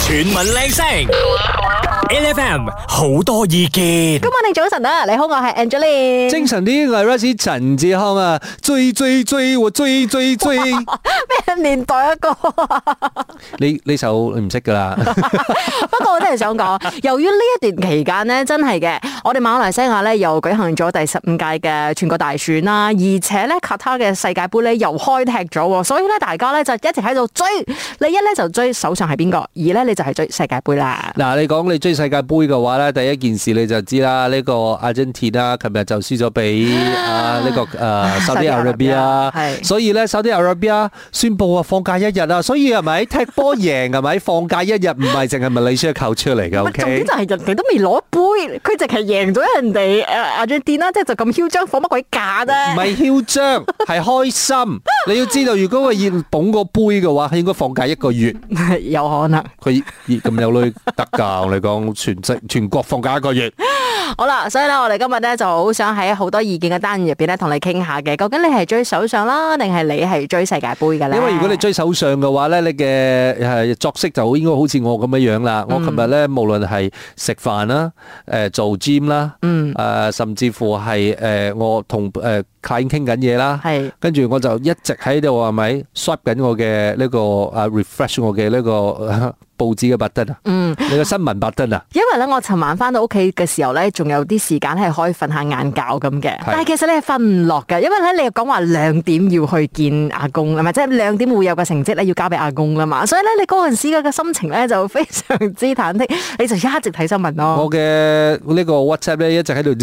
全民靚聲，LFM 好多意見。 今晚你早晨啊，你好，我係 Angeline。 精神啲，我係 Rusty 陳志康啊！追，我追。 咩年代一個？ 呢首你唔識噶啦。 不過我真係想講，由於呢一段期間呢，真係嘅，我哋馬來西亞咧又舉行咗第15屆嘅全國大選啦，而且咧卡塔嘅世界盃咧又開踢咗，所以咧大家咧就一直喺度追。你一咧就追首相係邊個，二咧你就係追世界盃啦。 嗱，你講你追世界盃嘅話咧，第一件事你就知啦，呢個阿根廷啦，琴日就輸咗俾呢個Saudi Arabia，係，所以咧 Saudi Arabia 宣布啊放假一日啊，所以係咪踢波贏係咪放假一日，唔係淨係馬來西亞扣出嚟嘅？ 重點就係人哋都未攞杯，佢淨係贏咗人哋阿根廷啦，即係就咁囂張，放乜鬼假啫？ 唔係囂張，係開心。你要知道，如果佢要捧個杯嘅話，應該放假1個月。 有可能。 佢咁有女得㗎，我哋講全國放假1個月。 好啦，所以咧，我哋今日咧就好想喺好多意見嘅單元入邊咧，同你傾下嘅。究竟你係追首相啦，定係你係追世界盃嘅咧？ 因為如果你追首相嘅話咧，你嘅作息就應該好似我咁樣樣啦。我琴日咧，無論係食飯啦、做 gym 啦，甚至乎係我同client 傾緊嘢啦，係跟住我就一直喺度係咪 swipe 緊我嘅呢個refresh 我嘅呢個報紙嘅 button 啊，你個新聞 button 啊。因為咧，我尋晚翻到屋企嘅時候咧，仲有啲時間係可以瞓下晏覺咁嘅。但係其實你係瞓唔落嘅，因為咧你又講話2點要去見阿公，係咪？即係2點會有個成績咧要交俾阿公啦嘛。所以咧，你嗰陣時嘅心情咧就非常之忐忑，你就一直睇新聞咯。 我嘅呢個 WhatsApp 咧一直喺度。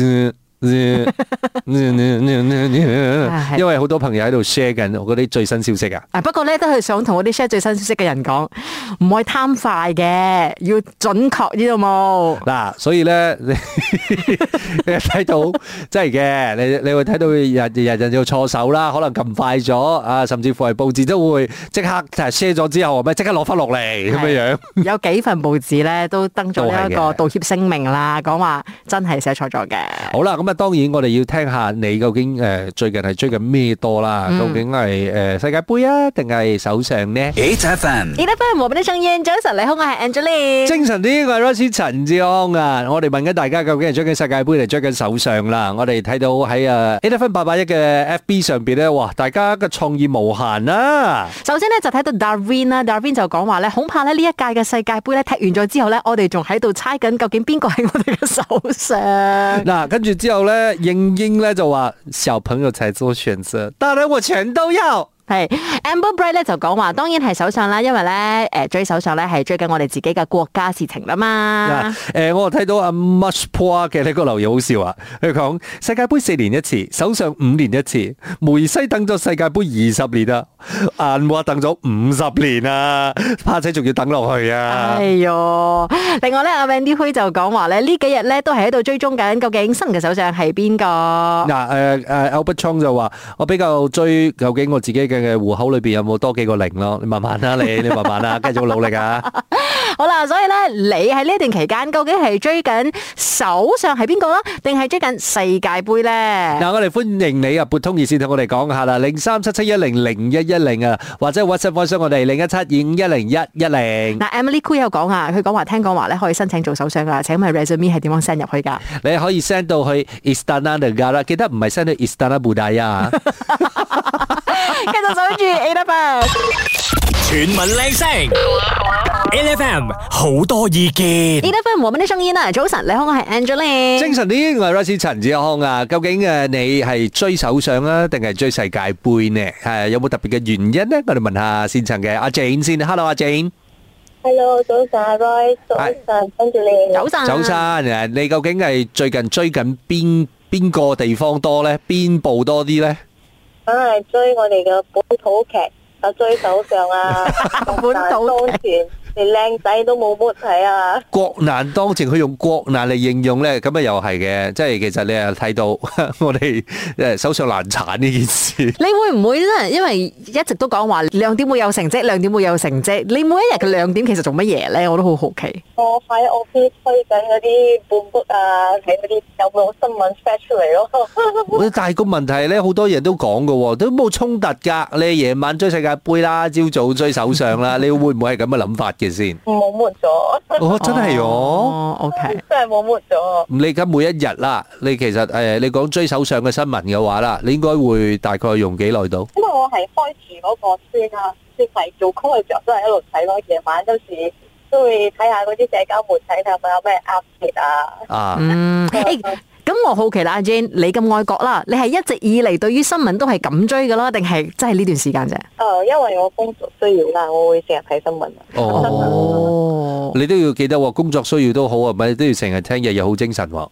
因為好多朋友喺度 share 緊我嗰啲最新消息啊！ 不過咧都係想同嗰啲 share 最新消息嘅人講，唔可以貪快嘅，要準確，知道冇？ 嗱，所以咧你睇到真係嘅，你會睇到人要錯手啦，可能撳快咗啊，甚至乎係報紙都會即刻 share 咗之後，咪即刻攞翻落嚟咁樣樣。 有幾份報紙咧都登咗呢一個道歉聲明啦，講話真係寫錯咗嘅。 好啦，咁啊。當然，我哋要聽下你究竟最近係追緊咩多啦？究竟係世界盃啊，定係首相呢 ？8FM，8FM， 我俾啲聲音，早晨，你好，我係 Angeline。 精神啲，我係 Rusty 陳志康啊！我哋問緊大家，究竟係追緊世界盃定追緊首相啦？我哋睇到喺8FM881嘅 FB 上邊咧，哇！大家嘅創意無限啊！ 首先咧就睇到 Darwin 啦 ，Darwin 就講話咧，恐怕咧呢一屆嘅世界盃咧踢完咗之後咧，我哋仲喺度猜緊究竟邊個係我哋嘅首相。 嗱，跟住之後咧，英咧就話小朋友才做選擇，當然我全都要。 係 Amber Bright 咧就講話，當然係首相啦，因為咧追首相咧係追緊我哋自己嘅國家事情啦嘛。 我睇到阿 Much Poor 嘅呢個留言好笑啊，佢講世界盃4年一次，首相5年一次，梅西等咗世界盃20年啊，安華等咗50年啊，怕仔仲要等落去啊。 哎喲，另外咧阿 Wendy Hui 就講話咧呢幾日咧都係喺度追蹤緊究竟新嘅首相係邊個。 Albert Chong 就話我比較追究竟我自己嘅戶口裏邊有冇多幾個零咯？你慢慢啦，你慢慢啦，繼續努力啊！ 好啦，所以咧，你喺呢段期間究竟係追緊首相係邊個啦，定係追緊世界盃咧？ 嗱，我哋歡迎你啊，撥通熱線同我哋講下啦，0377100110啊，或者 WhatsApp 翻上我哋0172510110。 嗱 ，Emily Khoo 有講啊，佢講話聽講話咧可以申請做首相噶，請問 resume 係點樣 send 入去噶？ 你可以 send 到去 Istana Negara，記得唔係 send 去 Istana Budaya。 繼續守住 8FM， 全民靚聲 ，8FM 好多意見。 8FM 我們的聲音啊，早晨，你好，我係 Angeline。 精神啲，我係 Rusty 陳志康啊。究竟你係追首相啊，定係追世界盃呢？係有冇特別嘅原因呢？我哋問下現場嘅阿 Jane 先。Hello， 阿 Jane。Hello， 早晨，阿 Roy， 早晨，跟住你。 早晨。 早晨，你究竟係最近追緊邊個地方多咧？邊部多啲咧？ 梗係追我哋嘅本土劇，追首相啊， 本土劇。 連靚仔都冇乜睇啊！ 國難當前，佢用國難嚟形容咧，咁啊又係嘅，即係其實你又睇到我哋首相難產呢件事。 你會唔會咧？因為一直都講話亮點會有成績，亮點會有成績。你每一日嘅亮點其實做乜嘢咧？我都好好奇。 我喺屋企推緊嗰啲半筆啊，睇嗰啲有冇新聞 flash 出嚟咯。 但係個問題咧，好多人都講嘅，都冇衝突噶。你夜晚追世界盃啦，朝早追首相啦，你會唔會係咁嘅諗法嘅？ 嘅先？ 冇抹咗， 哦，真係哦。 OK。 真係冇抹咗。 你而家每一日啦，你其實你講追手上嘅新聞嘅話啦，你應該會大概用幾耐到？ 因為我係開住嗰個先啦，先係做工嘅時候都係一路睇咯，夜晚有時都會睇下嗰啲社交媒體睇下有咩 update 啊。 咁我好奇啦，阿 Jane， 你咁愛國啦，你係一直以嚟對於新聞都係咁追噶啦，定係真係呢段時間啫？ 因為我工作需要啦，我會成日睇新聞。 哦， 你都要記得喎，工作需要都好啊，咪都要成日聽，日日好精神喎。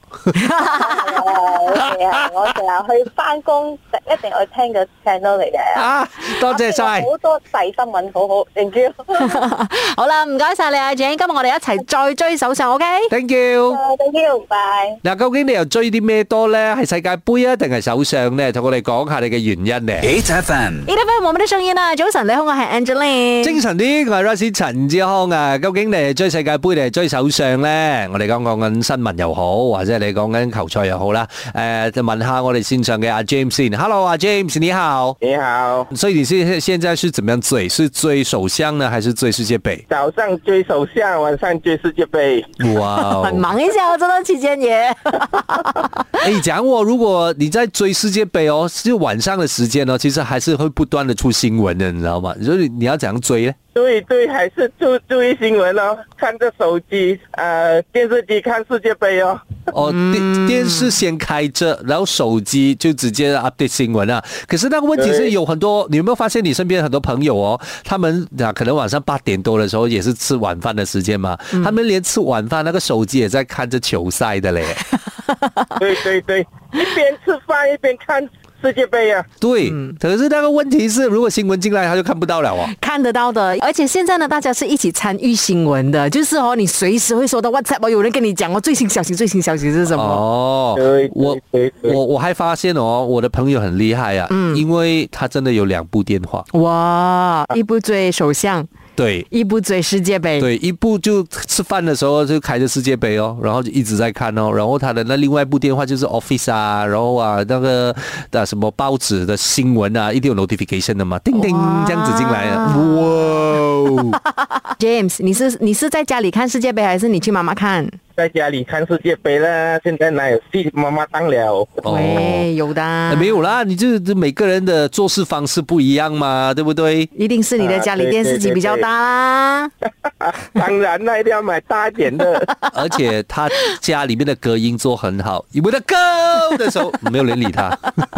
我成日去翻工，一定去聽個 channel 嚟嘅。 啊，多謝晒。 好多細新聞，好好，thank you。 好啦，唔該晒你阿 Jane，今日我哋一齊再追手上 ，OK？Thank you，thank you，bye。 嗱，究竟你又追啲咩多咧？係世界盃啊，定係手相咧？同我哋講下你嘅原因咧。 8FM，8FM，我哋的聲音啊！早晨，你好，我係 Angeline。 精神啲，我係 Rosie 陳志康啊。究竟你係追世界盃定係追手相咧？我哋講緊新聞又好，或者你講緊球賽又好啦。就問下我哋線上嘅阿 James 先。Hello， 阿 James， 你好。 你好。 所以你現在是怎麼樣追？是追首相呢，還是追世界盃？ 早上追首相，晚上追世界盃。 哇， 很忙一下哦，這段期間也。 講我，如果你在追世界盃哦，就晚上的時間哦，其實還是會不斷的出新聞的，你知道嗎？所以你要怎樣追呢？ 對，還是注意新聞哦，看着手機，電視機看世界盃哦。 電視先開着，然後手機就直接 update 新聞啊。可是那個問題是有很多，你有沒有發現你身邊很多朋友哦，他們可能晚上8點多的時候也是吃晚飯的時間嘛，他們連吃晚飯那個手機也在看着球賽的嘞。 對，一邊吃飯一邊看世界盃啊。 對，可是那個問題是，如果新聞進來，他就看不到了哦。 看得到的，而且現在呢，大家是一起參與新聞的，就是你隨時會收到 WhatsApp，有人跟你講最新消息是什麼？ 哦，我還發現哦，我的朋友很厲害啊，因為他真的有2部電話。 哇，一部追首相。 對， 一部追世界盃， 對，一部就吃飯的時候就開着世界盃哦，然後就一直在看哦，然後他的那另外一部電話就是 Office 啊，然後那個什麼報紙的新聞啊，一定有 notification 的嘛，叮叮這樣子進來啊，哇 ！James，你是在家裡看世界盃，還是你去媽媽看？ 在家裡看世界盃啦，現在哪有戲媽媽當了？ 喂，有的， 沒有啦，你就每個人的做事方式不一樣嘛，對不對？ 一定是你的家裡電視機比較大啦。 當然啦，一定要買大一點的。 而且他家裡面的隔音做很好，因為他高的時候沒有人理他。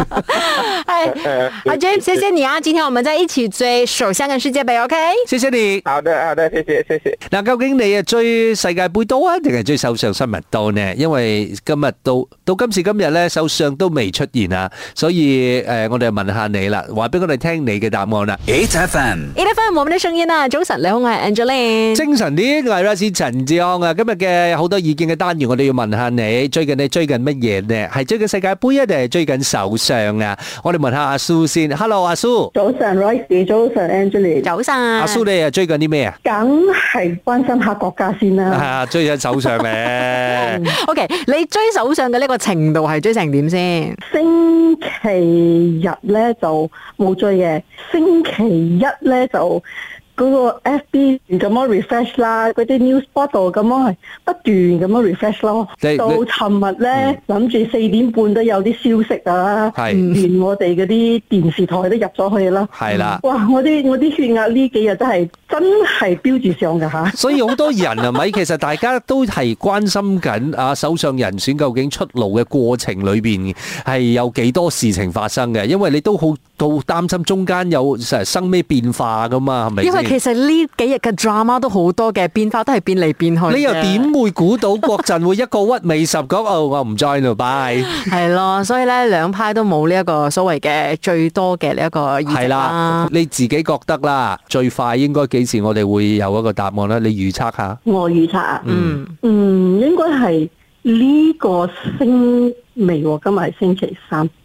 阿 James， 謝謝你啊！今天我們在一起追首相跟世界盃 ，OK？ 謝謝你。 好的，謝謝。 嗱，究竟你追世界盃多啊，定係追首相新聞多呢？因為今日到今時今日咧，首相都未出現啊，所以我哋問下你啦，話俾我哋聽你嘅答案啦。8FM， 我們的聲音啊！早晨，你好，我係 Angeline。 精神啲，我係 Rosie 陳志康啊！今日嘅好多意見嘅單元，我哋要問下你，最近你追緊乜嘢呢？係追緊世界盃啊，定係追緊首相啊？我哋問下阿蘇先。Hello， 阿蘇。 早晨 Rosie， 早晨 Angeline。 早晨。 阿蘇，你啊追緊啲咩啊？ 梗係關心下國家先啦。 啊，追緊首相咧。 OK， 你追首相嘅呢個程度係追成點先？ 星期日咧就冇追嘅，星期一咧就嗰個 FB 咁樣 refresh 啦，嗰啲 news portal 咁樣係不斷咁樣 refresh 咯。到尋日咧諗住4點半都有啲消息啊，連我哋嗰啲電視台都入咗去啦。 係啦， 哇！我啲血壓呢幾日真係飆住上㗎嚇。 所以好多人係咪？其實大家都係關心緊啊，首相人選究竟出爐嘅過程裏邊係有幾多事情發生嘅？因為你都好擔心中間有生咩變化㗎嘛，係咪？ 因為其實呢幾日嘅 drama 都好多嘅變化，都係變嚟變去。 你又點會估到國陣會一個屈尾十講我唔 join 咯，bye。係咯，所以咧兩派都冇呢一個所謂嘅最多嘅呢一個議席啦。係啦， 你自己覺得啦，最快應該幾時我哋會有一個答案咧？你預測下。 我預測啊，應該係呢個星期喎，今日係星期3。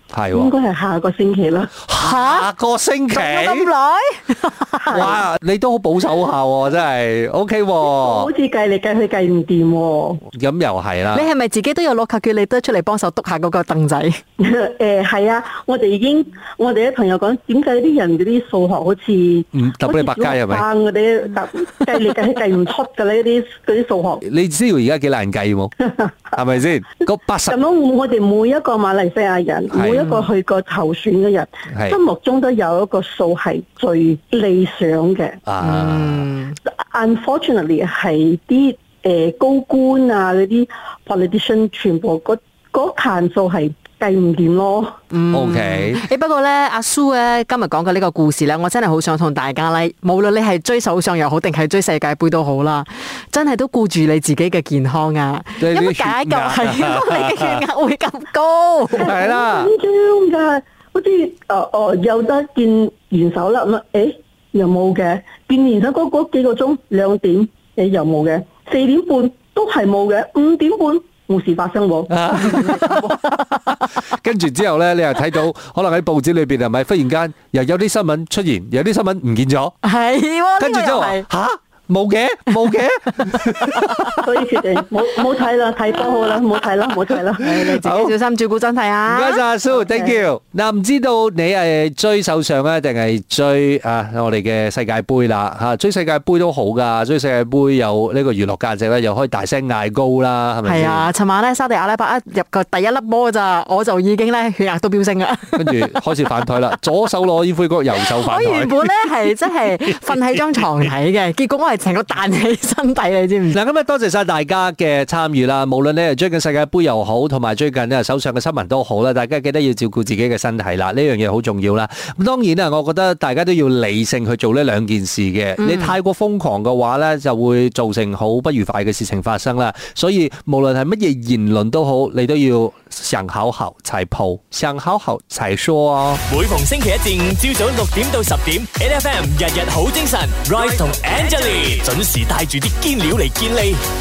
係應該係下個星期啦。 下個星期咁耐？ 哇！你都好保守下喎，真係 OK 喎。 好似計嚟計去計唔掂喎。 咁又係啦。 你係咪自己都有攞卡叫你得出嚟幫手篤下嗰個凳仔？ 係啊，我哋啲朋友講，點解啲人嗰啲數學好似揼你百佳係咪？ 嗰啲計嚟計去計唔出嘅呢啲數學。 你知道而家幾難計冇？係咪先？個80咁樣，我哋每一個馬來西亞人，每一個去過投選嘅人，心目中都有一個數係最理想嘅。Unfortunately 係啲高官啊嗰啲 politician 全部嗰盤數係計唔掂咯。 OK。 不過咧，阿蘇咧今日講嘅呢個故事咧，我真係好想同大家咧，無論你係追首相又好，定係追世界盃都好啦，真係都顧住你自己嘅健康啊！有乜解救係你嘅血壓會咁高？ 係啦， 緊張㗎，好似有得見元首啦咁又冇嘅，見元首嗰幾個鐘2點又冇嘅，4點半都係冇嘅，5點半冇事發生喎。 跟住之後咧，你又睇到可能喺報紙裏邊係咪忽然間又有啲新聞出現，有啲新聞唔見咗， 係喎， 跟住之後嚇。冇嘅， 所以決定冇睇啦，睇波好啦，冇睇啦。 你自己小心照顧身體啊！ 唔該晒阿蘇 ，thank you。嗱，唔知道你係追首相咧，定係追我哋嘅世界盃啦嚇？追世界盃都好噶，追世界盃有呢個娛樂價值咧，又可以大聲嗌高啦，係咪先？係啊，尋晚咧沙地阿拉伯一入個第一粒波咋，我就已經咧血壓都飆升啦。 跟住開始反台啦，左手攞煙灰缸，右手反台。 我原本咧係真係瞓喺張床睇嘅，結果我係成個彈起身體，你知唔知？ 嗱，咁多謝晒大家嘅參與啦。無論你係追緊世界盃又好，同埋最近咧手上嘅新聞都好啦，大家記得要照顧自己嘅身體啦。呢樣嘢好重要啦。咁當然啦，我覺得大家都要理性去做呢兩件事嘅。你太過瘋狂嘅話咧，就會造成好不愉快嘅事情發生啦。所以無論係乜嘢言論都好，你都要想好好才鋪，想好好才說哦。 每逢星期一至五朝早6點到10點 ，NFM 日日好精神 ，Rise 同 Angelie 準時帶住啲堅料嚟見你。